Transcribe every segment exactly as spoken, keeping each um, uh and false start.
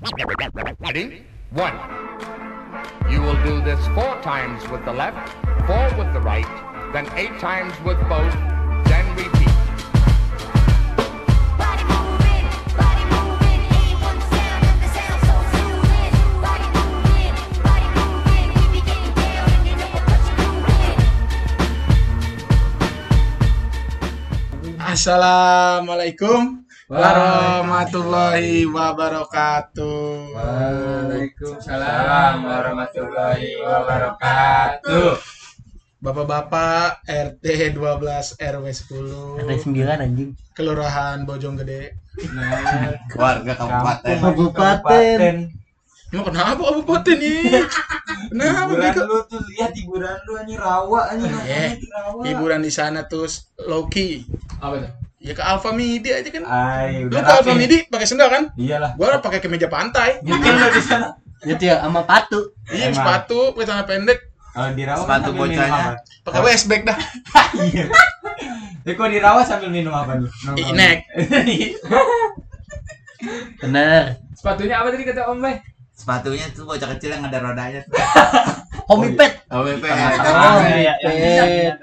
Ready? One. You will do this four times with the left, four with the right, then eight times with both, then repeat. Body moving, body moving, and you want the sound of the sound so soothing. Body moving, body moving, we be getting down and you know what you're doing. Assalamualaikum warahmatullahi wabarakatuh. Waalaikumsalam warahmatullahi wabarakatuh. Bapak-bapak R T dua belas R W sepuluh R T sembilan anjing. Kelurahan Bojonggede. Warga kabupaten. Kabupaten. Emang kenapa kabupaten nih? Kenapa Hiburan bego? lu tuh, lihat hiburan lu anjing rawa anjing Eh, namanya di rawa. hiburan di sana tuh low key. Apa tuh? Ya ke Alfa Midi aja kan. Ay, Lu udah ke Alfa rapi. Midi pakai sendal kan? Iyalah. Gua pakai kemeja pantai. Nyetir lu di sana. Itu ya sama patu. Iya, Emang. sepatu, pakai celana pendek, Oh, di rawa Sepatu kan sambil minum bocahnya. apa? pakai waistbag dah. Iya. Eh, kok di rawa sambil minum apa lu? Inek. Bener. Sepatunya apa tadi kata Om Bay? Sepatunya tuh bocah kecil yang ada rodanya tuh. Homipet. O W P. Oh, iya, homipet.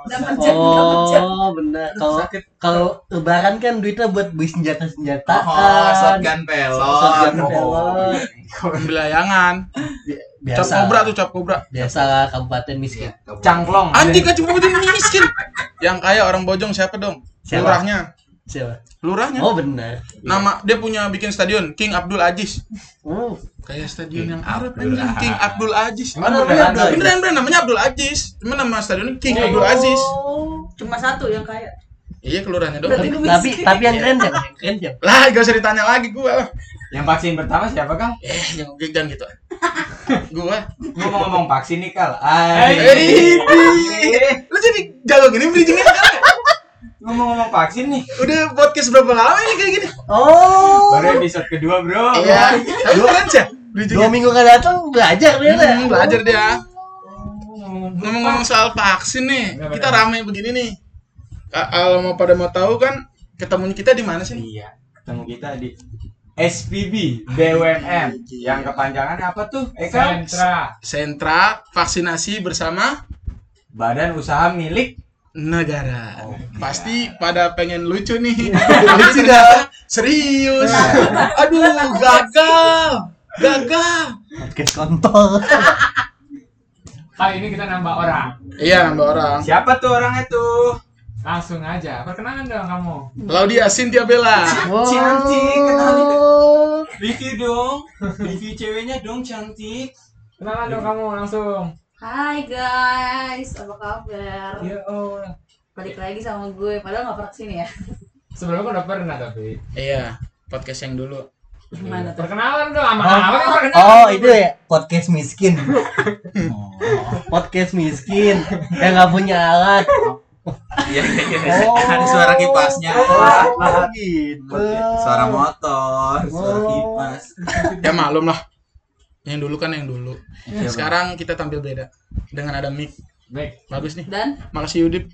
Oh, bener. Kalau kalau lebaran kan duitnya buat beli senjata-senjataan. Oh, shotgun pelot. Shotgun Oh. pelot. Ambil layangan. Cap Biasa. kobra tuh, cap kobra. Biasa lah kabupaten miskin. Cangklong. Anjing kan cuma betul miskin. Yang kaya orang Bojong siapa dong? Siapa? Lurahnya. Siapa? Lurahnya. Oh, bener. Nama dia punya bikin stadion King Abdul Aziz. Oh, Kayak stadion yang Arab Abdul anjing, King Abdul Aziz. Mana beneran? namanya Abdul? Beneran beneran namanya Abdul Aziz. Cuma nama stadionnya King Oh. Abdul Aziz. Cuma satu yang kaya. Iya, kelurahannya dong. Berarti Tapi tapi, tapi yang keren siapa? Yang keren siapa? Lah, gak usah ditanya lagi gua lah. Yang vaksin pertama siapa, Kang? Eh, jangan jangan gitu. Gua. Gua mau ngomong vaksin nih, Kal. Eh, Ay. lu jadi jalur gini bridging-nya kan? Ngomong-ngomong vaksin nih. Udah podcast berapa lama ini kayak gini? Oh. Baru episode kedua, Bro. Iya. Tapi keren sih. Dua Bridging-nya. minggu kan datang belajar dia. Hmm, belajar dia. Ngomong Ngomong-ngomong soal vaksin nih, kita rame begini nih. Ka- Kalau mau pada mau tahu kan, ketemunya kita di mana sih? Iya, ketemu kita di S P B B U M M. Yang kepanjangannya apa tuh? Eka? Sentra. Sentra Vaksinasi Bersama Badan Usaha Milik. Negara. Oh, Pasti pada pengen lucu nih. Lucu dah. Serius. Aduh, gagal. Gagal. Podcast kontol. Kali ini kita nambah orang. Iya, nambah orang. Siapa tuh orangnya tuh? Langsung aja. Perkenalan dong kamu. Laudia Cynthia Bella. Cantik, kenalin. Oh. Review dong. Review ceweknya dong, cantik. Kenalan dong kamu langsung. Hai guys, apa kabar? Ya Allah. Balik lagi sama gue, padahal gak pernah kesini ya. Sebelumnya udah pernah tapi. Iya, podcast yang dulu. Gimana tuh? Perkenalan dong sama Oh, apa kan perkenalan. oh itu ya podcast miskin. Oh, podcast miskin yang nggak punya alat. Iya, Oh. ada suara kipasnya. Oh, gitu. Suara motor, suara Oh. kipas. Ya maklum lah. Yang dulu kan yang dulu. Iya, Sekarang kita tampil beda dengan ada mic. Baik. Bagus nih. Dan? Makasih Yudip.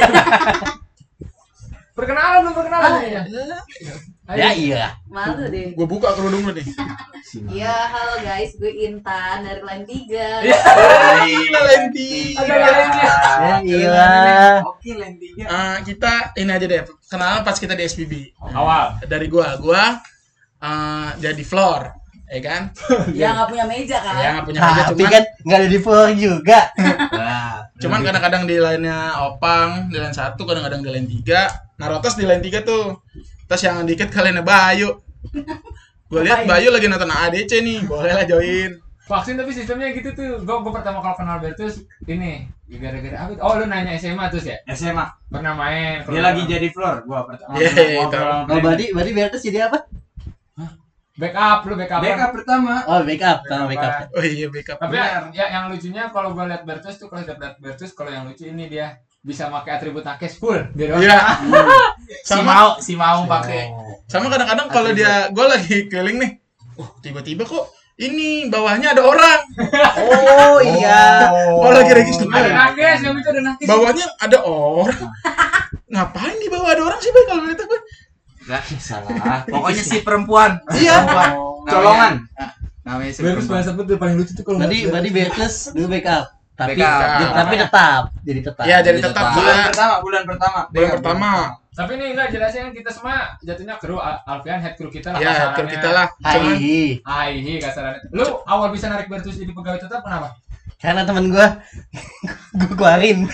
Perkenalan dong perkenalan. Oh, ya. Ya iya. Malu deh. Gue buka kerudung lu nih. Iya, halo guys, gue Intan dari Line tiga. Gila Lenti. Ada lainnya. Ya iya. Oke, lentinya. Eh, kita ini aja deh. Kenalan pas kita di S P B. Awal. Dari gua, gua eh, jadi floor, ya kan? Ya gak punya meja kan? Ya nggak punya meja, Tapi cuman kan nggak ada di floor juga. Nah, cuman kadang-kadang di lainnya Opang, di lain satu, kadang-kadang di lain tiga. Narotos di lain tiga tuh. Terus yang dikit kalian Bayu. Gua lihat Bayu lagi nonton A D C nih, boleh lah join. Vaksin tapi sistemnya gitu tuh. Gue gue pertama kali kenal Bertus ini gara-gara apa? Oh lu nanya S M A terus ya? S M A. Pernah main. Dia lagi jadi floor, gua pertama. Yeay, Ngobrol. Oh berarti berarti Bertus jadi apa? backup lu backup. Backup pertama. Oh backup, sama backup. Oh iya, backup. Tapi ya, ya yang lucunya kalau gue lihat Bertus tuh kalau lihat Bertus kalau yang lucu ini dia bisa pakai atribut nakes full. Biar Iya. si Sama mau, si mau pakai. sama kadang-kadang kalau dia gua lagi keliling nih. Oh, tiba-tiba kok ini bawahnya ada orang. Oh iya. Oh, lagi register. ada nakes, yang itu ada nakes. Bawahnya ada orang. Ngapain di bawah ada orang sih, Bay, kalau lihat gue? Enggak salah. Pokoknya si perempuan. Iya. Oh. Colongan. Namanya si Bertus perempuan. bahasa betul paling lucu tuh kalau Berarti nggak- berarti Bertus dulu backup. Tapi Backup. jadi- tapi tetap, jadi tetap. Ya, jadi Jadi tetap tetap. Bulan Kak. pertama, bulan pertama. Bulan Iya, pertama. Tapi ini enggak jelasin kan kita semua jatuhnya kru Al- Alfian head crew kita lah Ya, kasarannya. kan kita lah. Cuman Hai, Aihi kasarannya. Lu awal bisa narik Bertus jadi pegawai tetap kenapa? karena temen gua gua keluarin.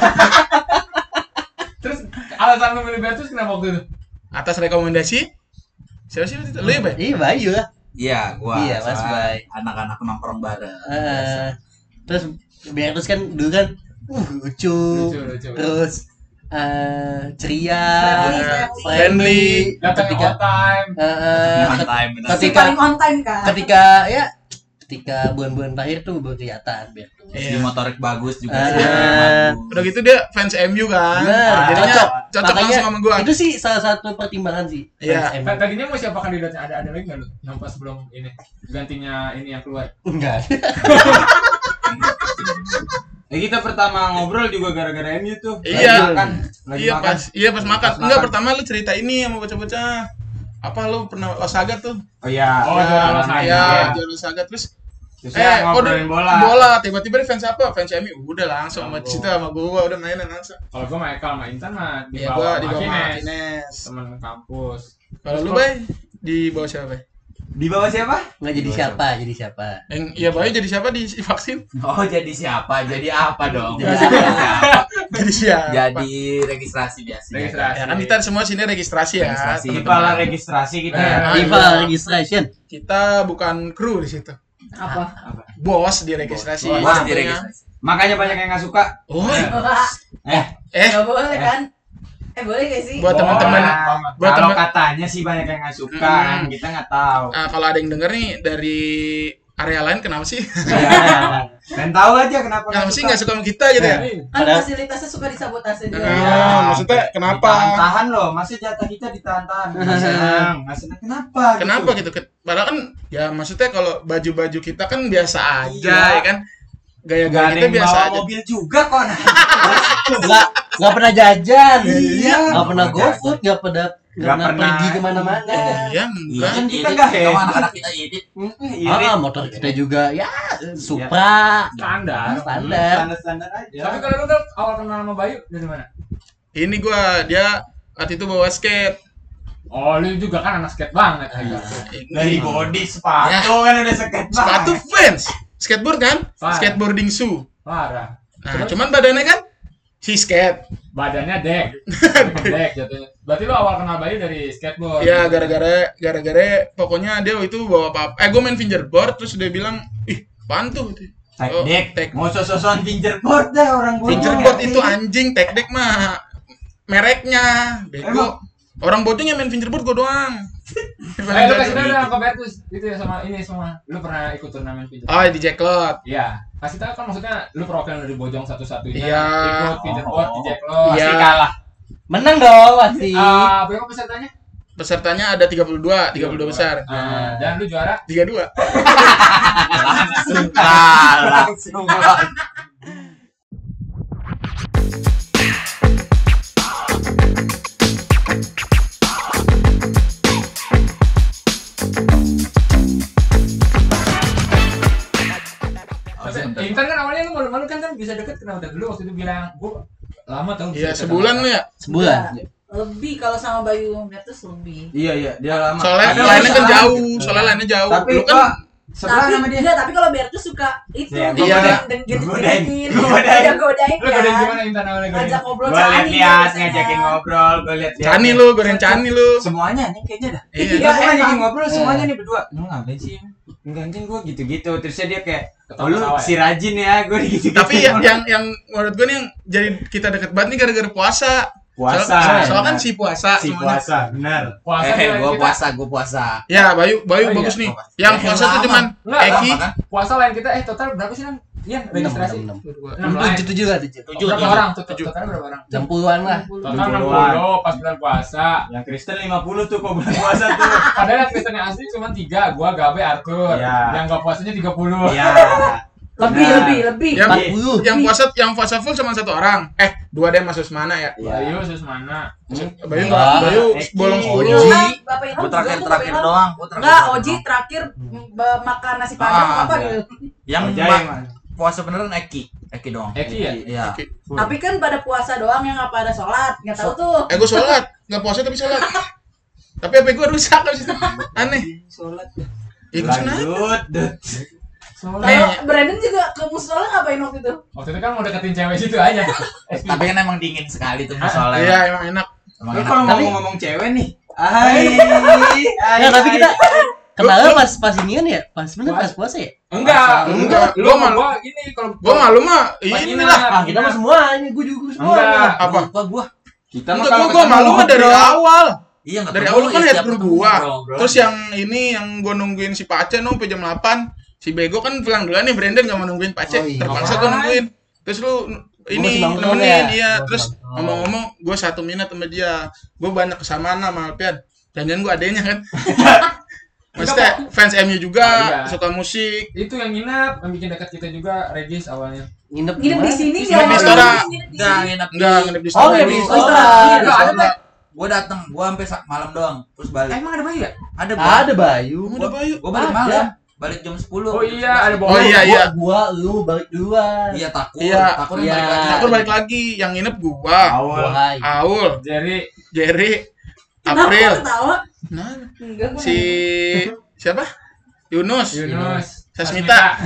Terus alasan lu milih Bertus kenapa waktu itu? atas rekomendasi siapa sih waktu itu? Lu ya, Bay? Iya, Bayu lah. Iya, gua. Iya, Mas soalnya Bay. Anak-anak nongkrong bareng. Eh, terus Bertus kan dulu kan uh, lucu, Lucu, lucu. terus eh, ceria, Friendly, friendly. Datang ketika on time. eh, eh, On time, bener. Si ketika paling on time kan. ketika ya ketika bulan-bulan terakhir tuh baru kelihatan Bertus. Di Iya. motorik bagus juga. Ah. sih, bagus. Udah gitu dia fans M U kan. Bener, Jadinya cocok. cocok Makanya langsung sama gua. Itu sih salah satu pertimbangan sih. Iya. Fans M U. T- Tadinya mau siapa kandidatnya? Ada ada lagi nggak lu? Yang pas sebelum ini gantinya ini yang keluar. Enggak. Ya kita pertama ngobrol juga gara-gara M U tuh. Lagi Iya. makan, lagi Iya makan. pas, iya pas makan. Pas Enggak, makan. pertama lu cerita ini sama bocah-bocah. Apa lu pernah Osaga tuh? Oh iya. Oh, juara Osaga. Iya, Iya. juara Osaga terus Terus eh ya kok ngobrolin udah- bola. Bola, tiba-tiba dia fans apa? Fans M U. Udah langsung sama Oh. situ sama gua udah mainan langsung. Kalau gua sama Ekal sama Intan mah di Iya, bawah gua di bawah Martinez. Martinez. Teman kampus. Kalau lu, Bay, di bawah siapa, Bay? Di bawah siapa? Enggak jadi siapa, jadi siapa. Yang iya, Bay jadi siapa di vaksin? Oh, jadi siapa? Jadi apa dong? Jadi Jadi siapa? siapa? Jadi siapa? Jadi registrasi biasanya. Registrasi. Ya kan kita semua sini registrasi ya. Registrasi. teman-teman. Kepala registrasi kita. Eh, ya. Rival registration. Kita bukan kru di situ. Apa? Bos di registrasi. Bos Namanya. di registrasi. Makanya banyak yang nggak suka. Oh, Eh, eh Gak boleh kan? Eh boleh gak sih? buat Boleh. teman-teman Banget. buat kalau teman katanya sih banyak yang nggak suka, Hmm. kan kita nggak tahu. ah, kalau ada yang denger nih dari area lain kenapa sih? Ya. Dan tahu aja kenapa Kenapa sih nggak suka sama kita gitu ya? Ini, Kan Padahal- fasilitasnya suka disabotase dia. Ah, maksudnya kenapa? Tahan loh, masih jatah kita ditahan-tahan. Nggak senang, nggak senang. Kenapa? Kenapa gitu? Ke- Padahal kan ya maksudnya kalau baju-baju kita kan biasa aja Iya. ya kan. Gak Gaya-gaya ada kita yang biasa bawa aja. mobil juga kok. Nah. Enggak enggak pernah jajan. Iya. Enggak pernah Nggak GoFood, enggak pernah Nggak nggak pernah pernah. pergi kemana-mana. Iya, enggak. Kan Idit, kita idit. nggak Sama hebat. anak-anak kita idit. Irit. Ah, motor kita juga ya Supra, standar. standar. Standar-standar aja. Tapi kalau lu kan awal kenal sama Bayu dari mana? Ini gua dia waktu itu bawa skate. Oh, lu juga kan anak skate banget. Iya. Agak. Dari body sepatu kan udah skate Sepatu banget. fans. Skateboard kan? Parah. Skateboarding shoe. Parah. Nah, Terus? cuman badannya kan si skate. Badannya dek. Dek jatuhnya. Berarti lu awal kenal Bayu dari skateboard. Ya gara-gara gara-gara pokoknya dia itu bawa apa? Eh gue main fingerboard terus dia bilang, "Ih, apaan tuh?" Tag Oh, deck. tag- Mau sosokan fingerboard dah orang bocor. Fingerboard itu anjing, tag deck mah mereknya. Bego. Emang? Orang bocahnya main fingerboard gue doang. Eh, lu kasih tau dong ke Bertus. Itu ya sama ini semua. Lu pernah ikut turnamen pinjam? Oh, di Jacklot. Iya. Kasih tahu kan maksudnya lu perwakilan dari Bojong satu-satunya Iya. ikut fingerboard di Jacklot. Iya. Pasti kalah. Menang dong pasti. Ah, berapa pesertanya? Pesertanya ada tiga puluh dua, tiga puluh dua besar. Ah, dan lu juara. tiga puluh dua. Langsung kalah. Langsung kalah. Tapi Intan kan awalnya lu malu-malu kan kan bisa deket kenapa dulu waktu itu bilang gua lama tau Iya, bisa deket sebulan sama- lu ya. Sebulan. Lebih kalau sama Bayu Bertus lebih. Iya iya, dia lama. Soalnya Ada lainnya kan masalah. jauh, soalnya lainnya jauh. Tapi Lu kan kok sebelah Tapi sama dia. enggak, tapi kalau Bertus suka itu Iya, iya. dan Godain. gitu-gituin. Godain. Iya, godain Lu godain kan. gimana Intan awalnya godain? Ngajak ngobrol Gua Cani lihat-lihat biasanya. ngajakin ngobrol, gua lihat-lihat. Cani lu, goreng cani lu. Semuanya nih kayaknya dah. Iya. Iya, gua emang. ngajakin ngobrol semuanya Iya. nih berdua. Lu ngapain sih? Enggak anjing gua gitu-gitu. Terusnya dia kayak, "Oh lu Ketawa-ketawa ya? si rajin ya." Gua gitu-gitu. Tapi ya, yang yang menurut gue nih yang jadi kita deket banget nih gara-gara puasa. puasa. Soalnya soal kan benar. si puasa si semuanya. puasa, benar. Puasa Eh, dia- gua kita- puasa, gua puasa. Ya, Bayu, Bayu Oh, iya. bagus nih. Oh, Yang eh, puasa tuh lama. cuman Enggak, Eki. lama kan? Puasa lain kita eh total berapa sih Nan? Iya, registrasi. enam, enam lain. Tujuh tujuh lah tujuh. Tujuh, Berapa tujuh, orang? Total tujuh. totalnya berapa orang? Enam puluhan lah. Total enam enam puluhan. puluh pas bulan puasa. Yang Kristen lima puluh tuh kok bulan puasa tuh. Padahal yang Kristen yang asli cuma tiga, gua, Gabe, Arthur. Iya. Yang gak puasanya tiga puluh. Iya. Lebih, Nah. lebih, lebih. Yang empat puluh. yang puasa yang puasa full cuma satu orang. Eh, dua deh masuk mana ya? Bayu Susmana. Bayu Ah, enggak, Bayu Eki. bolong sepuluh. Ilham, Bapak Ilham Gue juga terakhir tuh, terakhir Bapak Ilham. doang. Gua terakhir Enggak, doang. Oji terakhir b- makan nasi padang Ah, apa iya. gitu. Yang Ojai, mbak Mas. puasa beneran Eki, Eki doang. Eki ya? Iya. Tapi kan pada puasa doang yang nggak pada sholat, nggak tahu tuh. Eh, gue sholat, nggak puasa tapi sholat. Tapi H P gue rusak abis itu. Aneh. Sholat. Ya gue sunat. Lanjut. Dut. Kalau Eh. Brandon juga ke musola ngapain waktu itu? Waktu itu kan mau deketin cewek situ aja. Tapi kan emang dingin sekali tuh musola. Iya, emang enak. Emang Lu enak. kalau Tapi- ngomong-ngomong cewek nih. Hai. Ya, tapi kita kenalnya pas pas ini kan ya, pas bener pas puasa ya. Enggak, Enggak, Lu gua sama malu. gua gini kalau Gue malu mah Pas inilah. inap, Ah, kita mah inap. semua ini, gue juga semua. Enggak. Apa? Lupa gua. Kita mah Enggak, kalau gue gue malu mah dari awal. Iya enggak Dari tahu, awal kan ya, head setiap group ketemu gua. ngobrol-ngobrol. Terus yang ini yang gue nungguin si Pace nung sampai jam delapan. Si Bego kan pulang duluan nih, Brandon gak mau nungguin Pace. Oh, iya. Terpaksa gue nungguin. Terus lu ini masih nongkrong nemenin, ya? iya. Oh, Terus oh. ngomong-ngomong, gue satu minat sama dia. Gue banyak kesamaan sama Alpian. Jangan-jangan gue adenya kan. Maksudnya fans M U juga, Oh, iya. suka musik. itu yang nginap, yang bikin dekat kita juga Regis awalnya. Nginep Nginep di sini Di nggak? sini, Stora. Nginep di Enggak sini. enak Enggak, nginep di Oh, sana. nginep di dulu. Stora. Iya, Enggak ada, Pak. Gua datang, gua sampai sa- malam doang, terus balik. Emang ada Bayu ya? Ada Ada Bayu. Udah Bayu. Gua balik Ada. malam, balik jam sepuluh. Oh iya, ada Oh iya iya. Gua, lu balik duluan. Iya takut, Iya. takut Iya. balik lagi. Aku balik lagi, yang nginep gua, Awal. Wahai. Aul, Jerry. Jerry, Kenapa April. lu ketawa? Nah, Enggak, gua si siapa? Yunus, Yunus. Sasmita,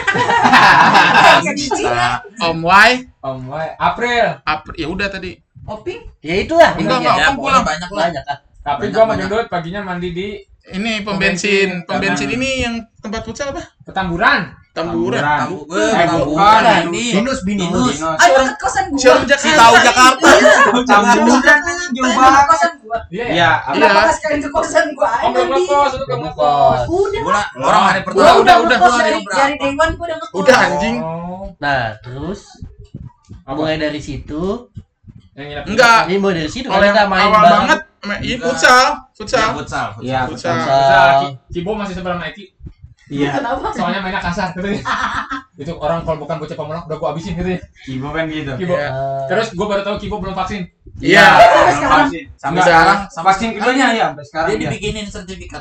nanya. Cici ya? Om Wai, Om Wai. April. April. Ya udah tadi. Oping? Ya itulah. Enggak, intinya. enggak. Ya, Kamu pokoknya pulang. banyak lah. Banyak ah. Tapi Banyak, gua sama banyak. Gendut paginya mandi di Ini pom Pom bensin, bensin. pom bensin Karena- ini yang tempat futsal apa? Petamburan. Tamburan. Tahu gue, Eh, tahu bukan. ini. Binus, binus. Binus. Ayo ke kosan gua. Si orang Jakarta. Si tahu Jakarta. Tamburan jauh Pengen ke banget. kosan gua. Iya ya? Iya, Iya. Kenapa nggak sekalian ke kosan gua? Oh, belum Ayo, Di. ngekos, itu belum ngekos. Udah. Gua orang hari Gua pertama. udah, udah udah. ngekos Gua dari hari dari berapa? day one gua udah ngekos. Udah anjing. Oh. Nah, terus Apa? mulai dari situ, Yang nginep. Enggak. ini mulai dari situ Kalau kan yang kita main awal bareng. banget, ma- ini Enggak. futsal, Iya, futsal. futsal. Iya, Futsal. futsal. Bisa, Ki- Kibo masih sebelah sama Eki. Iya. Kenapa? Soalnya mainnya kasar katanya. Itu orang kalau bukan bocah pemulung udah gua habisin katanya. Kibo kan gitu. Kibo. Iya. Eh, Terus gua baru tahu Kibo belum vaksin. Iya. Sampai sekarang. Vaksin. Sampai Udah. sekarang vaksin keduanya ya sampai sekarang Dia dia. dibikinin sertifikat.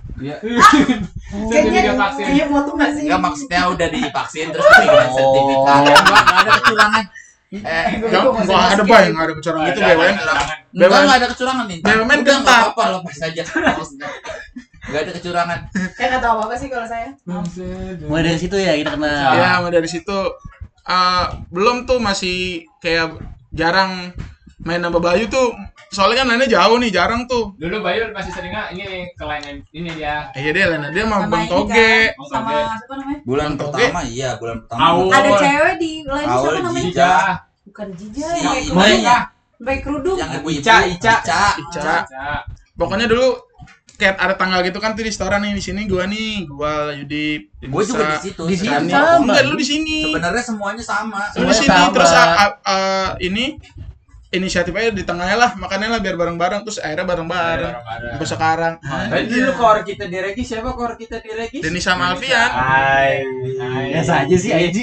Sertifikat Kayaknya vaksin. iya foto nggak sih? Enggak maksudnya udah divaksin terus dibikinin Oh. sertifikat. Enggak enggak ada kecurangan. Eh, Enggak, enggak ada bay, enggak ada kecurangan gitu B W M. enggak enggak ada kecurangan nih. B W M Udah gentar. enggak apa-apa lepas aja. Maksudnya. Enggak ada kecurangan. Kayak nggak tahu apa apa sih kalau saya. mulai dari situ ya kita kenal. Ya, mulai dari situ eh, belum tuh masih kayak jarang main sama Bayu tuh. Soalnya kan lainnya jauh nih, jarang tuh. Dulu Bayu masih sering nggak ini ke lain ini dia. Eh, iya dia lainnya dia sama Sama Bang ini Toge. kan, sama Toge. siapa namanya? Bulan Bang Toge. pertama iya, bulan pertama. Awal. Ada cewek di lain Awal siapa namanya? Jija. Bukan Jija, Si yang pakai Mai. kerudung. Iya. Pakai kerudung. Yang ibu Ica, Ica. Ica. Ica. Ica. Pokoknya dulu kayak ada tanggal gitu kan tuh di restoran nih, di sini gua nih, gua Yudi, Gue juga di situ. Di situ Sebenarnya- sama. Enggak, lu di sini. Sebenarnya semuanya sama. Lu di Semuanya sini sama. terus a- a- a- ini inisiatif aja di tengahnya lah, makannya lah biar bareng-bareng, terus akhirnya bareng-bareng. Sampai sekarang. Dan dulu kor kita di Regis siapa kor kita di Regis? Denis sama Alfian. Hai. Biasa aja sih Aji.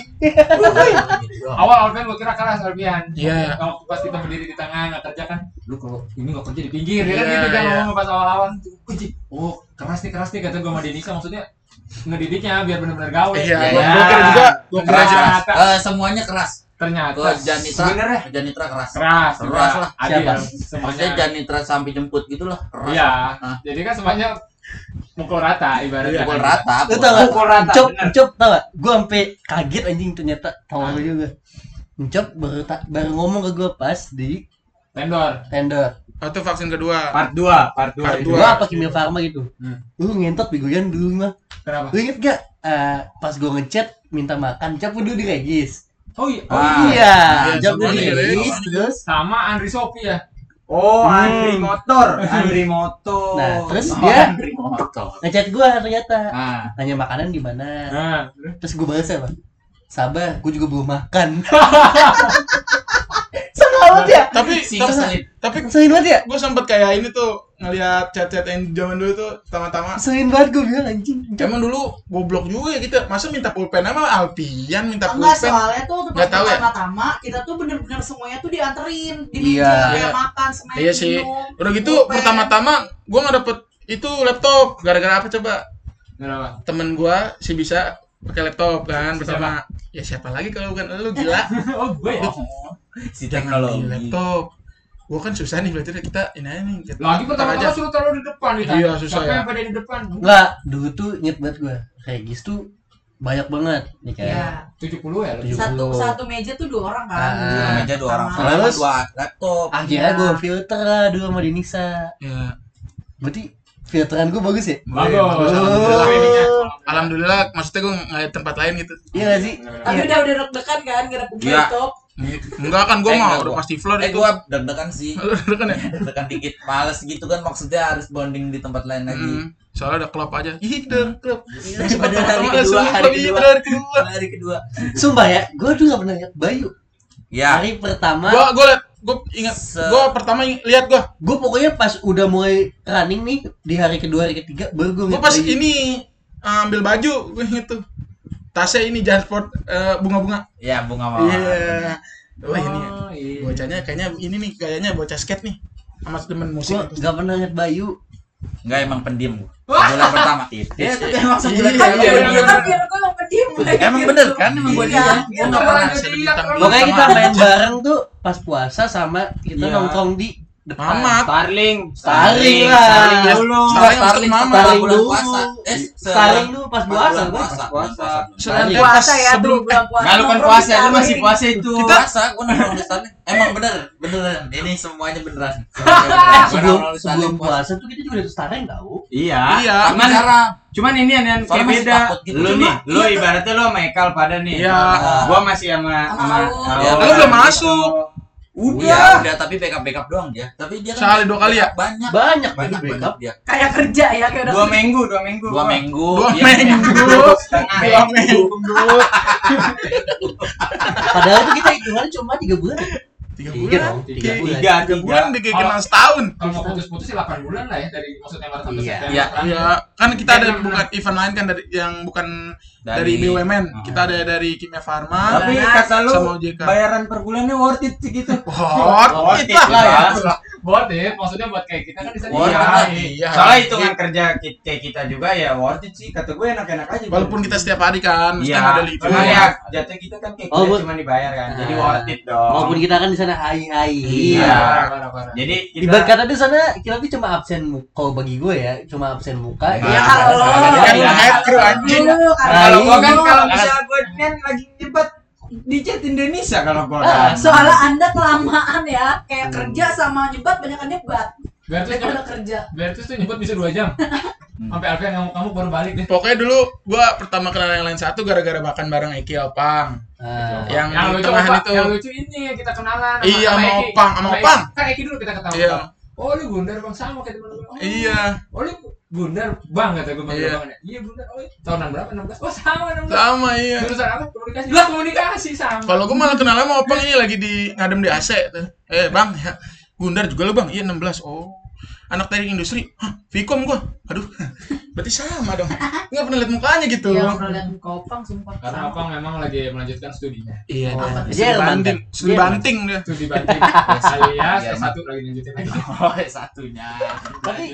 Awal Alfian gua kira keras Alfian. Iya. Kalau pas kita berdiri di tengah nggak kerja kan, lu kalau ini nggak kerja di pinggir, ya kan Iya, gitu dia iya. ngomong pas awal-awal. Kunci. Oh keras nih keras nih kata gua sama Denisa, maksudnya ngedidiknya biar benar-benar gawe. Iya, Iya, gua iya. gua kira juga, gua kira Keras, aja. keras. Ternyata, Eh, semuanya keras. ternyata Ke Janitra, sebenarnya Janitra keras. keras, Keras juga lah. adil Siapa? semuanya. Maksudnya Janitra sampai jemput gitulah. Keras. Iya. Hah? Jadi kan semuanya mukul rata ibaratnya. Pukul rata. Lu pukul tau gak? Pukul rata, Encop, bener. Encop tau gak? Gue sampai kaget anjing ternyata. Tau lu juga. Encop baru, ta- baru ngomong ke gue pas di Vendor. tender. Oh, itu vaksin kedua. Part dua, part dua. Part itu. dua. Gua apa Kimia Farma gitu. Hmm. Lu ngentot begoyan dulu mah. Kenapa? Lu inget gak? Eh, pas gue ngechat minta makan, Encop dulu di Regis. Oh iya. Oh Ah, iya, iya, Encop dulu di semuanya di Regis. Regis. Terus Sama Andri Sopi ya. Oh, Hmm. Andri motor, Andri motor. Nah, terus Oh, dia Andri motor. ngechat gue ternyata. Ah, Nanya makanan di mana. Nah, Terus gue balas apa? Sabar, gue juga belum makan. banget ya. Tapi Si tapi ngeselin. tapi Ngeselin banget ya. gue sempet kayak ini tuh ngeliat chat-chat yang zaman dulu tuh pertama-tama. Ngeselin banget gue bilang anjing. Emang dulu goblok juga ya kita. Masa minta pulpen sama Alpian minta Enggak, pulpen. soalnya tuh waktu Nggak tahu ya? pertama-tama kita tuh bener-bener semuanya tuh dianterin di Iya. meja kayak Iya. makan semuanya Iya sih. minum, Udah gitu pulpen. pertama-tama gue nggak dapet itu laptop gara-gara apa coba? Kenapa? Temen gue sih bisa pakai laptop kan bersama. Ya siapa lagi kalau bukan lu gila. Oh, gue ya. Si Jangan teknologi. di laptop. Gue kan susah nih berarti kita ini aja nih. kita Lagi putar pertama-tama suruh taruh di depan ditanya. Iya, susah Siapa ya. yang pada di depan? Enggak, dulu tuh inget banget gue. Regis tuh banyak banget nih kayak. Iya. tujuh puluh ya lu? tujuh Satu puluh. satu meja tuh dua orang kan. Ah. Dua Meja dua orang. sama- Terus? Sama dua laptop. Akhirnya Iya. gue filter lah dulu sama Denisa. Ya. Berarti filteran gue bagus ya? Bagus. Alhamdulillah. Alhamdulillah. Alhamdulillah, maksudnya gue nggak ada tempat lain gitu. Iya gak sih? Tapi Iya. udah udah deg-degan kan gara Iya. laptop. Enggak kan, gue Eh, mah enggak, udah gua. pasti floor Eh itu. gua deg-degan sih. Udah kan ya? Deg-degan dikit. Males gitu kan maksudnya harus bonding di tempat lain lagi. Hmm, soalnya ada klub aja. Ih, udah klub. Pada hari Langsung kedua, hari klub, iya, kedua. pada hari kedua. Hari kedua. Sumpah ya, gue tuh gak pernah lihat Bayu. Ya. Hari pertama, Gua gua liat, gua ingat, Se- gua pertama ing- lihat gua. gue pokoknya pas udah mulai running nih di hari kedua, hari ketiga, baru gue Gua pas ini ambil baju, gue inget tuh. Tasnya ini Jansport eh, bunga-bunga. Ya bunga mawar. Iya. Wah, ini Oh, iya. bocahnya kayaknya ini nih, kayaknya bocah skate nih. Sama temen musik. Gue gak pernah lihat Bayu. Enggak emang pendiam gua. Bulan pertama. Iya, tapi emang sebulan Iya, pertama. iya, gua iya. diam. Tapi gue yang pendiam. Emang bener kan emang gua Iya. diam. Gua Iya, enggak pernah Saya bintang dulu Pokoknya kita sama- main bareng tuh pas puasa sama kita Iya. nongkrong di depan. Mamat. Starling. Starling lah. Starling Ya, dulu. Starling Starling maksud setelah Starling bulan dulu. puasa. Eh, Starling dulu pas puasa, bulan gua. puasa. Puasa. Starling Iya. Puasa ya sebelum tuh bulan puasa. Enggak lu kan nongkrong puasa, di lu masih Starling. puasa itu. Kita puasa, gua nongkrong di Starling. Emang bener, beneran. Ini semuanya beneran. Eh, sebelum sebelum puasa tuh kita juga udah Starling tau. Iya. Iya. Cuman Sekarang cuman ini yang yang kayak soalnya masih beda. takut gitu. Lu Cuma- nih, lu ibaratnya lu sama Ekal pada nih. Iya. Gua masih sama Sama Aul. Ya, lu belum masuk. Udah, Udah. udah tapi backup backup doang dia. Tapi dia Sekali dua kali ya? Banyak. Banyak Banyak banget banyak dia. Kayak kerja ya kayak udah Dua minggu, dua minggu. Dua minggu. Dua Iya. minggu. Setengah. Dua minggu. Padahal tuh kita hitungan cuma tiga bulan. Tiga Tiga bulan. dong, tiga Tiga, bulan. Tiga, tiga bulan tiga. dikit kenal setahun. Kalau mau putus-putus sih delapan bulan lah ya dari maksudnya Maret sampai Iya. September. Iya. Iya, kan kita ada bukan event lain kan dari yang bukan dari, B U M N. Kita ada dari Kimia Farma Tapi Nah, kata lu sama O J K. bayaran per bulannya worth it sih gitu. Hot, Worth it kita lah ya. lah. Worth it, maksudnya buat kayak kita kan di sana. Worth Iya. it. Iya. Soalnya hitungan kerja ki- kayak kita juga ya worth it sih. Kata gue enak-enak aja. Walaupun kita setiap hari kan, mesti Iya. ada libur. Cuma ya jatuh kita kan kayak Oh, kita buat- cuma dibayar kan. Jadi Ah. worth it dong. Walaupun kita kan di sana hai-hai. Iya. Parah-parah. Jadi kita Ibarat kata di sana kita tuh cuma absen mu- kalau bagi gue ya, cuma absen muka. Nah, Iya kalau lo. Kan Iya. head crew anjing. Lu, kalau kalau gua kan lu. kalau misalnya gue kan lagi nyebat di chat Indonesia kalau gua kan. Soalnya anda kelamaan ya, kayak kerja sama nyebat banyak kan nyebat. Berarti Daripada kerja. Berarti tuh nyebut bisa dua jam. Sampai Alfian kamu kamu baru balik deh. Pokoknya dulu gua pertama kenal yang lain satu gara-gara makan bareng Eki Opang. Ah. Yang yang di lucu tengahan apa? itu. Yang lucu ini yang kita kenalan Iya, sama Eki. Opang, sama Eki. Opang. Kan Eki dulu kita ketawa. Iya. Oh, lu Gundar Bang sama kayak teman-teman. Oh, Iya. Oh, lu Gundar Bang kata gue Bang. Iya. Bang. Iya Gundar. Oh, tahunan berapa? enam belas. Oh, sama enam belas. Sama iya. Jurusan apa? Komunikasi. Lah, komunikasi sama. Kalau gua malah kenal sama Opang ini lagi di ngadem di A C tuh. Eh, Bang, ya. Gundar juga lu, Bang. Iya, enam belas. Oh. Anak teknik industri. Hah, Vkom gua. Aduh. Berarti sama dong. Enggak pernah lihat mukanya gitu. Iya, pernah lihat kopang sumpah. Karena Opang memang lagi melanjutkan studinya. Iya, Oh, dia. Jerman, Studi banting, kan? studi Jerman. banting dia. Studi banting alias Iya, S satu lagi lanjutin lagi. Oh, satunya. Tapi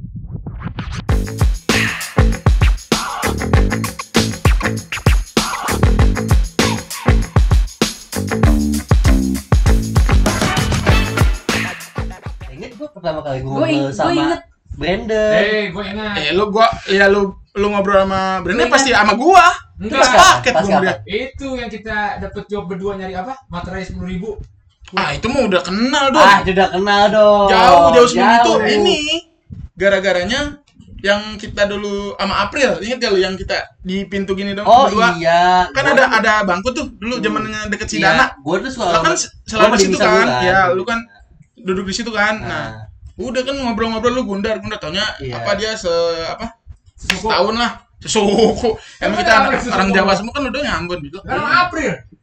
inget gue pertama kali gue Gue ngobrol gue sama inget. Brandon. Eh, gue ingat. Eh, lu gua ya lu lu ngobrol sama Brenda Iya. pasti sama gua. Enggak. Pas paket Pas gua sama dia. kapan? Itu yang kita dapat job berdua nyari apa? Materai sepuluh ribu. Ah, itu mah udah kenal dong. Ah, sudah kenal dong. Jauh jauh sebelum itu Jauh. ini gara-garanya yang kita dulu sama April, inget gak lu yang kita di pintu gini dong Oh berdua? iya. Kan ada ada bangku tuh dulu zamannya deket Sidana. Gue tuh suka. Lu kan selalu gua di situ bisa kan? duluan. Ya, lu kan duduk di situ kan. Nah, Nah, udah kan ngobrol-ngobrol lu Gundar, Gundar taunya Iya. apa dia se apa? Suku. Setahun lah. Sesuku. Emang kita Emang anak apa orang sesuku? Jawa semua kan udah nyambut gitu. Kan sama April.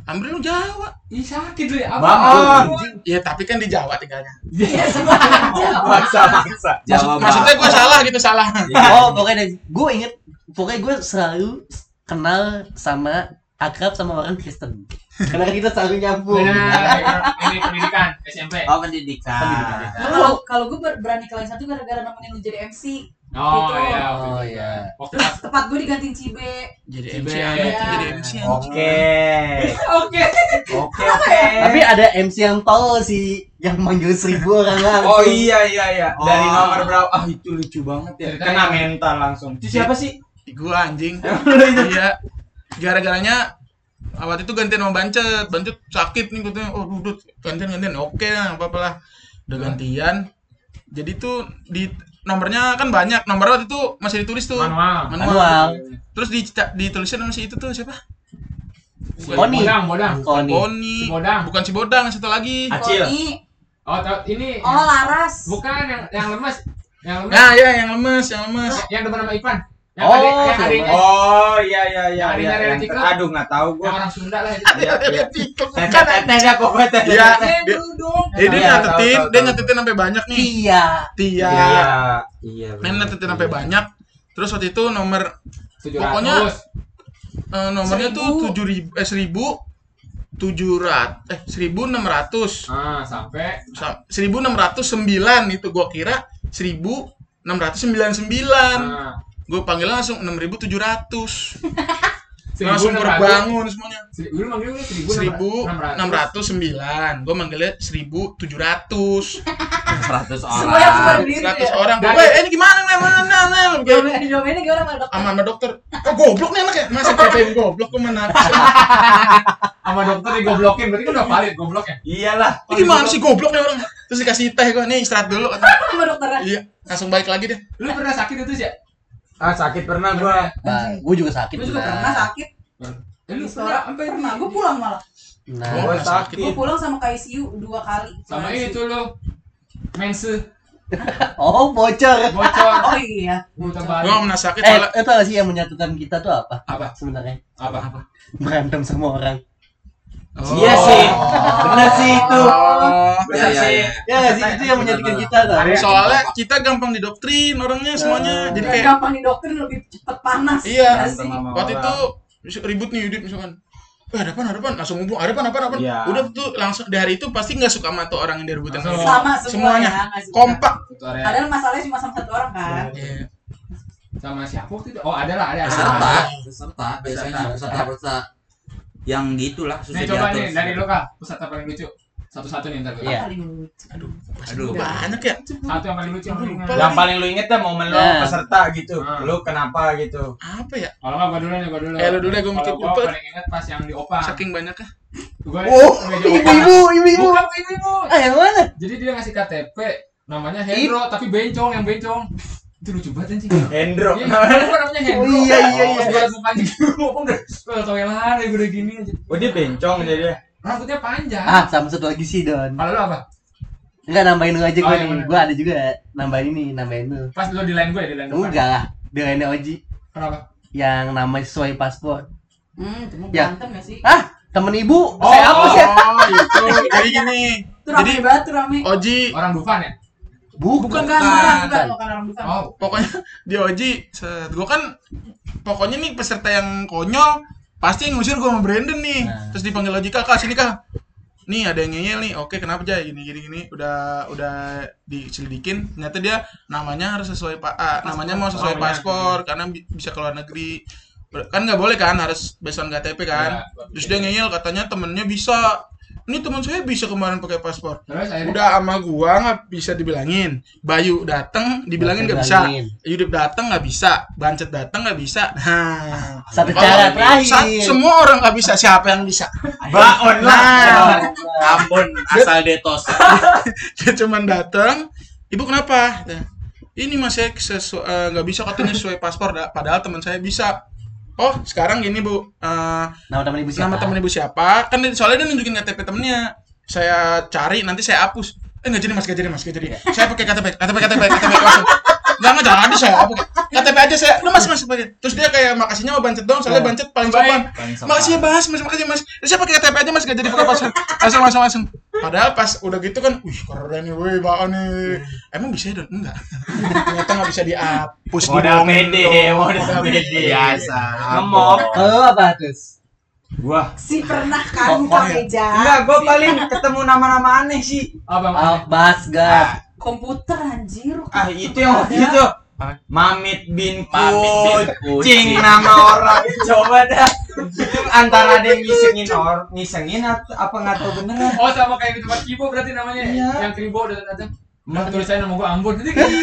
Amri lu Jawa. Ih sakit lu ya. Bangun. Ya tapi kan di Jawa tinggalnya. Iya, semua orang Jawa. Maksa maksa. Maksud, maksudnya gue salah gitu salah. Oh, pokoknya gue inget, pokoknya gue selalu kenal sama akrab sama orang Kristen. Karena kita selalu nyambung. Nah, ini pendidikan S M P. Oh, pendidikan. Nah, Kalau kalau gue ber- berani ke lain satu gara-gara nemenin lu jadi M C. Oh Gitu. iya. Oh, waktu itu. iya. Waktu Terus pas. tempat gue digantiin Cibe. Jadi Cibe. M C aneh tuh, jadi M C aneh. Oke. Oke. Oke oke. Tapi ada M C yang tolol sih, yang manggil seribu orang langsung. Oh iya iya iya. Dari Oh. nomor berapa? Ah itu lucu banget ya. Ceritanya. Kena mental langsung. Itu siapa sih? Gue anjing. Iya. Gara-garanya waktu itu gantian sama Bancet. Bancet sakit nih katanya. Oh, dudut gantian gantian. Oke lah, apa apalah. Udah gantian. Jadi tuh di nomornya kan banyak. Nomor waktu itu masih ditulis tuh. Manual. Manual. Terus di ditulisnya sama si itu tuh siapa? Koni. Bodang, bodang. Koni. Boni. Si Bodang. Bukan si Bodang, satu lagi. Acil. Koni. Oh, tau ini. Oh, Laras. Bukan yang yang lemes. Yang lemes. Nah, ya yang lemes, yang lemes. Yang depan nama Ipan. Yang Oh, adik, yang sama. adiknya. Oh iya iya iya. Yang adiknya iya. Rere Yang- Tikel. Aduh nggak tahu Yang gua. orang Sunda lah itu. Iya iya. Bukan. Tenda pokoknya tenda. Iya. Eh, Dia- dulu dong. Eh, dia Iya, nyatetin, tahu, tahu, dia tahu. nyatetin sampai banyak nih. Iya. Tia. Iya. Iya. Main nyatetin sampai banyak. Terus waktu itu nomor tujuh Pokoknya ratus. eh, nomornya Seribu. tuh tujuh ribu eh seribu tujuh ratus eh seribu enam ratus Ah, sampai seribu enam ratus sembilan itu gua kira seribu enam ratus sembilan puluh sembilan. ah, Gue panggilnya langsung enam ribu tujuh ratus. seribu Langsung enam ratus. berbangun semuanya. Seri- Dulu manggil gue seribu seribu enam ratus sembilan. Gue manggilnya seribu tujuh ratus. seratus Semua yang orang. berdiri seratus ya. orang. Dan- Gue, eh ini gimana nih? Mana nih? Diomelin diomelin gimana sama dokter? Sama sama dokter. Oh, goblok nih anaknya. Masa katain goblok gue mana? sama dokter digoblokin. Berarti kan udah valid gobloknya. Iyalah. Ini gimana sih goblok nih orang? Terus dikasih teh gue, nih istirahat dulu. Sama dokternya. Iya, langsung balik lagi deh. Lu pernah sakit itu sih ya? Ah sakit pernah gua. Nah, gue juga sakit. Gue juga pernah. pernah sakit. Eh, lu Pernah, pernah sampai pernah. Gue pulang malah. Nah, Oh, Gua pernah sakit. Gue pulang sama ke I C U dua kali. sama I C U. itu lu. Mense oh bocor. bocor. Oh iya. Muter Gue balik. gak pernah sakit Eh, soalnya. itu gak sih yang menyatukan kita tuh apa? Apa? Sebenarnya Apa? berantem sama orang. Oh. Iya sih. Bener sih itu. Oh. Bener Iya, sih. iya, Ya nggak sih, itu yang menyatukan kita tuh. Soalnya kita gampang didoktrin orangnya semuanya. Jadi Dan kayak gampang di dokter lebih cepet panas. Iya. Nggak sih? Sama waktu orang. itu mis- ribut nih Yudit misalkan. Eh, ada apa, ada apa? Langsung ngomong, ada apa, ada apa, ada apa? Iya. Udah tuh langsung di hari itu pasti nggak suka sama tuh orang yang diributin. Langsung. Sama semua Semuanya. ya, nggak suka. Kompak. Itu area. Padahal masalahnya cuma sama satu orang kan. Iya. Sama siapa waktu itu? Oh, ada lah, ada. Peserta, ada. peserta biasanya peserta peserta yang gitulah susah Nih coba diatur. nih dari lo Kak, peserta paling lucu. Satu-satu nih ntar. Iya. Paling lucu. Aduh, pasti Aduh. banyak ya. Satu yang paling lucu yang paling Lupa. Yang paling lu inget dah momen lo Nah. peserta gitu. Ah. Lu kenapa gitu? Apa ya? Kalau nggak gua dulu nih, gua dulu. Eh, lu dulu deh, gua mikir Kalau gua lupa. paling ingat pas yang di Opang. Saking banyaknya. Gua Oh, meja Opang. ibu-ibu, ibu-ibu. Bukan ibu-ibu. Ah, yang mana? Jadi dia ngasih K T P, namanya Hendro, tapi bencong, yang bencong. Itu lucu banget anjing. Hendro. Iya, kenapa namanya Hendro? Oh, iya, iya, iya. Pas gua liat mukanya gitu, Opang udah udah toilet ya udah gini aja. Oh dia bencong jadi. Rambutnya panjang. Ah, sama satu lagi sih Don. Kalau lu apa? Enggak nambahin lu aja Oh, gue yang nih. mana? Gue ada juga nambahin ini, nambahin lu. Pas lu di line gue, di line depan. Enggak lah, dia lainnya Oji Kenapa? yang namanya sesuai paspor. Hmm, cuma Ya. berantem gak sih? Ah, temen ibu, Oh, saya hapus ya. Oh, itu. Jadi gini. Itu rame Jadi banget tuh rame. Oji Orang Dufan ya? Bukan, Bukan, bukan, bukan, bukan orang bukan. Oh, pokoknya di Oji, set. Gua kan pokoknya nih peserta yang konyol pasti yang ngusir gua sama Brandon nih. Nah. Terus dipanggil Oji, "Kak, sini Kak. Nih ada yang ngeyel nih. Oke, kenapa aja gini gini gini. Udah udah diselidikin. Ternyata dia namanya harus sesuai Pak A. Namanya mau sesuai Oh, iya. paspor karena bi- bisa keluar negeri. Kan nggak boleh kan, harus based on K T P kan. Iya. Terus dia ngeyel katanya temennya bisa. Ini teman saya bisa kemarin pakai paspor. terus akhirnya Udah sama gua nggak bisa dibilangin. Bayu dateng dibilangin nggak bisa. Yudip dateng nggak bisa. Bancet dateng nggak bisa. Nah, Satu kalau cara sa- terakhir. semua orang nggak bisa. Siapa yang bisa? Baon lah. Ampun, asal detos. Dia cuman dateng. Ibu kenapa? Nah, ini mas saya sesu- eh, nggak bisa katanya sesuai paspor. Da- Padahal teman saya bisa. Oh sekarang gini bu. Eh, Nama temen ibu siapa? nama temen ibu siapa? Kan dia- soalnya dia nunjukin K T P temennya. Saya cari nanti saya hapus. Eh nggak jadi mas, nggak jadi mas, nggak jadi. Saya pakai K T P, K T P, K T P, K T P langsung. Enggak enggak jadi saya apa K T P aja saya. Lu Mas Mas pakai. Terus dia kayak makasihnya mau bancet dong, soalnya bancet paling sopan. Makasih ya Mas, Mas makasih Mas. Terus saya pakai K T P aja Mas, enggak jadi pakai paspor. Langsung langsung langsung. Padahal pas udah gitu kan, wih keren nih, wih baan nih. Emang bisa ya, Don? Enggak. Ternyata enggak bisa dihapus di Modal pede, modal pede biasa. Ngemok. Kalau apa terus? Gua Si pernah kan Oh, buka oh, iya. meja enggak, gua paling ketemu nama-nama aneh sih. Apa Oh, Mas? Basgat. komputer anjir. Ah, itu yang waktu itu. Mamit bin Mamit bin Kucing Kucing. nama orang. Coba dah. Itu antara dia ngisengin or, ngisengin atau apa enggak tahu beneran. Oh sama kayak di tempat Kibo berarti namanya. Iya. Yang Kibo datang-datang. Mas Emang tulisannya nama gua Ambon nanti kan.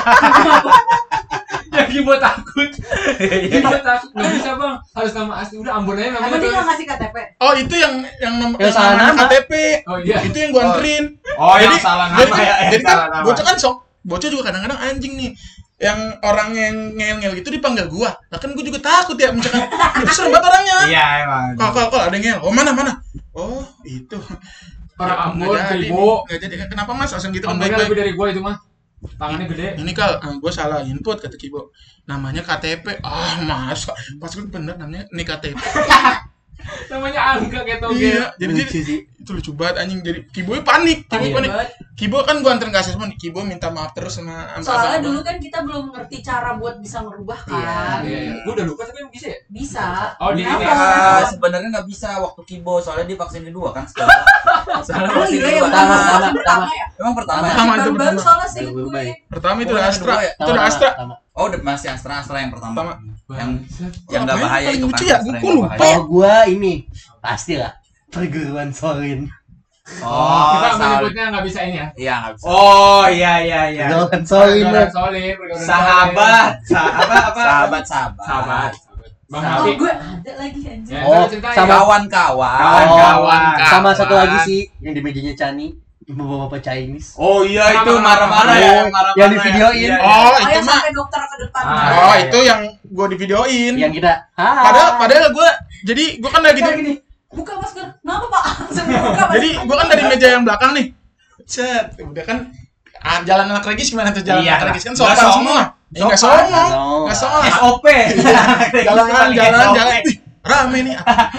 Yang Kibo takut. Kibo takut. Nggak bisa bang. Harus nama asli. Udah Ambon aja Emang namanya. dia nggak tulis. ngasih K T P? Oh, itu yang yang nom- Yang yang salah namanya nama. K T P. Oh iya. Itu yang gua anterin. Oh, yang Jadi- salah Jadi, nama ya. yang jadi kan salah nama. bocah kan sok. Bocah juga kadang-kadang anjing nih. Yang orang yang ngel-ngel gitu dipanggil gua. Lah kan gua juga takut ya misalkan itu serem banget orangnya. Iya, emang. Kal kal kal ada yang ngel. Oh, mana mana? Oh, itu. Orang Ambon, Nggak jadi Kibo. nih. Nggak jadi. Kenapa Mas? Langsung gitu kan Ambonnya baik-baik. lebih dari gua itu mah. Tangannya gede. Ini kal, ah, gue salah input kata Kibo. Namanya K T P. Ah, masa? Pas gue bener namanya ini K T P. Namanya angka kayak toge. Iya, jadi Lucu jadi sih. itu lucu banget anjing. Jadi Kibo panik, Kibo Panik panik. banget. Kibo kan gue anterin ke asesmen. Kibo minta maaf terus sama sama Soalnya abang-abang. dulu kan kita belum ngerti cara buat bisa ngerubah Iya, kan. Iya, iya. Gua udah lupa tapi emang bisa ya? Bisa. Oh, di ini. Ah, sebenarnya nggak bisa waktu Kibo soalnya dia vaksin kedua kan sekarang. Soalnya Oh vaksin iya, kedua. yang Pertama, pertama, pertama, pertama ya. Emang pertama ya? Pertama. itu Baru-baru pertama. soalnya sih Baru-baru gue. baik. Pertama itu Oh, udah yang Astra. kedua ya? Itu udah Astra. Oh, udah masih Astra Astra yang pertama. Pertama. Yang Bangsat. yang nggak Apa bahaya yang itu lucu kan. ya? Astra Gua yang nggak lupa. bahaya. Kalau gua ini pasti lah perguruan Sorin. Oh, Kita Saul. menyebutnya nggak bisa ini ya. Iya, nggak bisa. Oh, iya iya iya. Perguruan Sorin. Pergaulan solid, pergaulan Sahabat, sa- apa apa? Sahabat sahabat. Sahabat. Bang Oh Nabi. gue ada lagi anjir. Ya, Oh, ntar ceritain. sama- Kawan-kawan. Kawan-kawan. Sama Kawan. satu lagi sih yang di mejanya Chani, bapak-bapak Chinese. Oh iya itu Marah-marah. marah-marah ya, Oh, marah-marah. yang di videoin. Iya, iya. Oh, Oh itu yang mah. sampai dokter ke depan. Ah, Oh, iya, itu yang gue di videoin. Yang kita, ah. Padahal padahal gue jadi gue kan lagi Kayak di, gini. Buka masker. Kenapa Pak? Langsung buka jadi masker. gue kan dari meja yang belakang nih. Set, udah kan ah, jalan anak regis gimana tuh jalan Iya anak lah. regis kan Nggak sopan songong. semua. Ya enggak Sopan. songong. Songong. Enggak songong. S O P. Jalan jalan S O P. jalan. Ih, rame nih.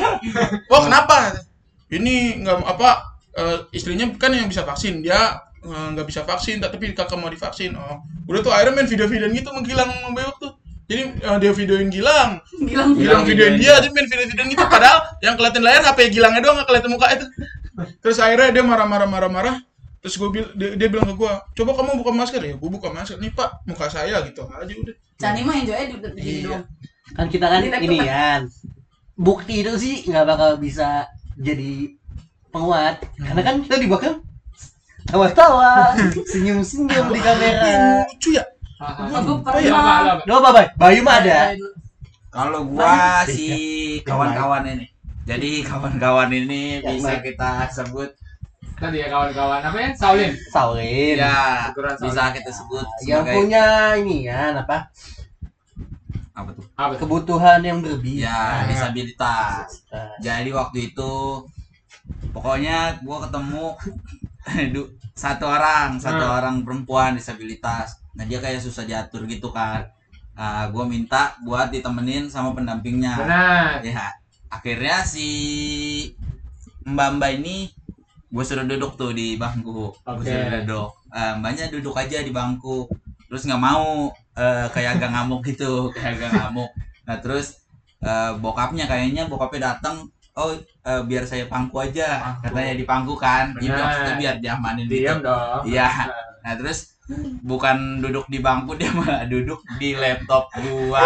Oh, kenapa? Ini enggak apa eh, istrinya kan yang bisa vaksin. Dia eh, nggak bisa vaksin tapi kakak mau divaksin. Oh, udah tuh akhirnya main video-videoan gitu menghilang membewok tuh. Jadi eh, dia videoin Gilang. Gilang Gilang videoin dia, dia main video-videoan gitu padahal yang kelihatan layar H P Gilangnya doang, nggak kelihatan muka itu. Terus akhirnya dia marah-marah marah-marah. Terus gue bil- dia, dia bilang ke gue, coba kamu buka masker ya. Gue buka masker nih Pak, muka saya gitu aja udah. Cani mah enjoy aja di di Iya. doang. Kan kita kan Ini laptop ini kan? kan. Bukti itu sih nggak bakal bisa jadi penguat karena kan kita di belakang tawa-tawa, senyum-senyum di kamera. Lucu ya. Hahaha. Aku Apa ya? Apa, pernah. apa, apa? Doa apa, Bay? Bayu mah ada. Kalau gua si kawan-kawan ini. Jadi kawan-kawan ini Yang bisa baik. kita sebut Tadi ya kawan-kawan apa ya? Saulin. Saulin. ya Ukuran bisa kita sebut Yang sebagai punya ini kan apa? apa tuh? Apa tuh? Kebutuhan yang berlebih. Ya, disabilitas. Nah, Jadi waktu itu pokoknya gua ketemu du- satu orang, satu Hmm. orang perempuan disabilitas. Nah, dia kayak susah diatur gitu kan. Nah, gua minta buat ditemenin sama pendampingnya. Benar. Ya, akhirnya si Mbak-mbak ini gue suruh duduk tuh di bangku. Gue Oke. suruh duduk. Eh, mbaknya duduk aja di bangku. Terus nggak mau eh, kayak agak ngamuk gitu, kayak agak ngamuk. Nah terus eh, bokapnya kayaknya bokapnya datang. Oh eh, biar saya pangku aja, Pangku. katanya di pangku kan. Dia Benar. maksudnya biar diamanin gitu. Diam dong. Iya. Nah terus bukan duduk di bangku, dia malah duduk di laptop gua.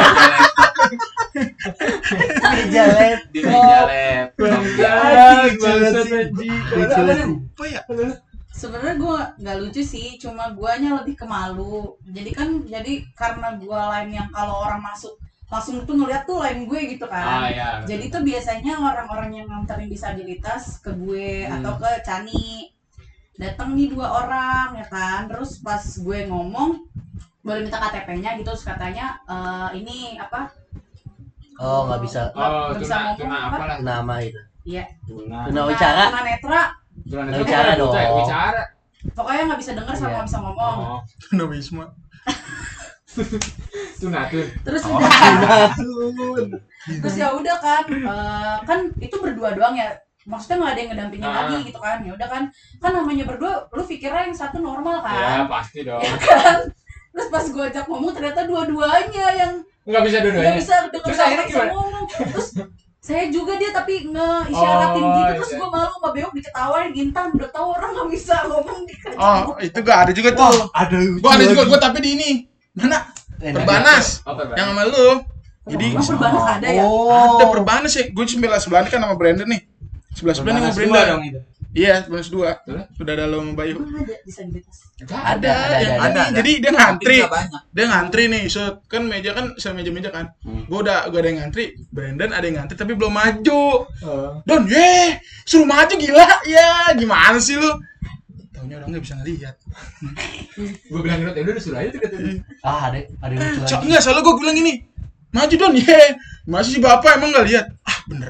meja lab. Di meja laptop. Ah, bangsat anjing. Lucu banget. Apa ya? Sebenarnya gue nggak lucu sih, cuma guanya lebih ke malu. Jadi kan, jadi karena gua lain yang kalau orang masuk langsung tuh ngeliat tuh lain gue gitu Ah kan. ya. Jadi tuh biasanya orang-orang yang nganterin disabilitas ke gue Hmm. atau ke Cani datang nih dua orang ya kan. Terus pas gue ngomong boleh minta K T P-nya gitu, terus katanya eh, ini apa? Oh, nggak bisa Oh, Nggak bisa tuna, ngomong tuna apa? apa lah? nama itu. Iya. Tuna. Tuna wicara. Tuna netra. Tuna Nggak netra bicara buta ya? dong. Bicara. Pokoknya nggak bisa dengar sama Iya. nggak bisa ngomong. Oh. Tuna Wisma. Sunatun. Terus Oh. udah terus ya udah kan eh, kan itu berdua doang ya, maksudnya nggak ada yang ngedampingin Ah. lagi gitu kan. Ya udah kan kan namanya berdua, lu pikirnya yang satu normal Ya kan, pasti dong. ya kan. Terus pas gue ajak ngomong ternyata dua-duanya yang Nggak bisa nggak dua-duanya. bisa denger Terus sama akhirnya bisa gimana? ngomong. Terus saya juga dia tapi nge-isyaratin Oh, gitu, terus iya. gue malu sama Beok diketawain, Intan udah tahu orang nggak bisa ngomong di Oh, itu gak ada juga tuh. Ada. Gua ada juga gua tapi di ini. Mana? Perbanas. Apa Bang? Yang sama lu. Jadi Oh, Perbanas ada ya? Oh. ada Perbanas ya. Gue sebelah sebelah kan sama Brandon nih. Sebelah sebelah nih sama Perbanas dua Brandon. dong itu. Iya, Perbanas dua. Terus? Udah ada lu sama Bayu. Emang ada disabilitas? Nggak Ada, ada, yang ada, ini. ada. Jadi dia Tapi ngantri. nggak banyak. Dia ngantri nih. So, kan meja kan sama meja-meja kan. Hmm. Gua udah gua ada yang ngantri. Brandon ada yang ngantri tapi belum maju. Oh. Don, ye, suruh maju gila. Ya, gimana sih lu? Taunya orang nggak bisa ngelihat. Gue bilang gitu, ya udah suruh aja tuh katanya. Ah, ada ada yang lucu Cok, lagi. enggak, soalnya gue bilang gini, maju Don, ye. Masih si bapak emang nggak lihat? Ah, bener.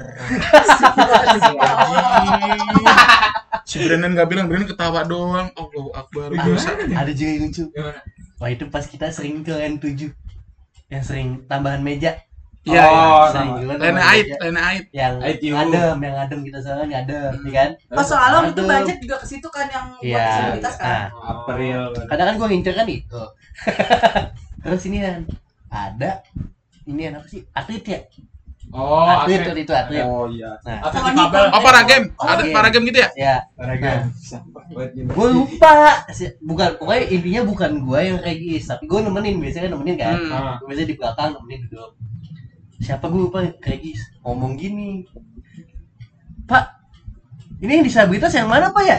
Si Brandon nggak bilang, Brandon ketawa doang. Allahu Akbar. Dosa. Ada juga yang lucu. Gimana? Wah, itu pas kita sering ke N tujuh. Yang sering tambahan meja. Iya, Oh, iya. Sering sama. juga Lena tambahan Ait, meja. Lena Ait. Yang I T U. adem, yang adem kita soalnya ngadem, ya kan? Pas soalnya waktu itu Aduh. budget juga ke situ kan yang buat Iya. disabilitas kan. Nah, April. kadang kan gue ngincer kan itu. Terus ini kan ada ini yang apa sih? Atlet ya? Oh, atlet atlet. itu atlet. Oh iya. Nah, Atlet Sama difabel. Oh, para game. Oh, Ada iya. para game gitu ya? ya. Olahraga. Nah, gue lupa. Si- Bukan, pokoknya intinya bukan gue yang regis, tapi gue nemenin, biasanya kan nemenin kan. Hmm. Ah. Gue biasanya di belakang nemenin duduk. Siapa gue lupa regis ngomong gini. Pak, ini yang disabilitas yang mana Pak ya?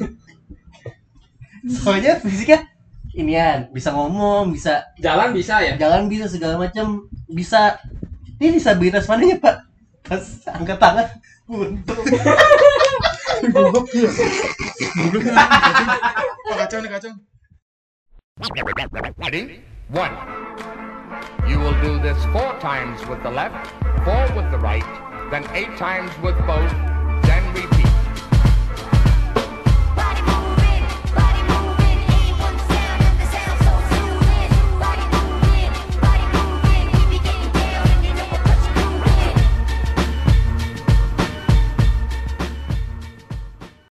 Soalnya fisiknya inian, bisa ngomong, bisa Jalan bisa ya? jalan bisa segala macam bisa. Ini disabilitas mananya Pak? Pas angkat tangan buntung. Wah, kacau nih, kacau. Ready? One. You will do this four times with the left, four with the right, then eight times with both,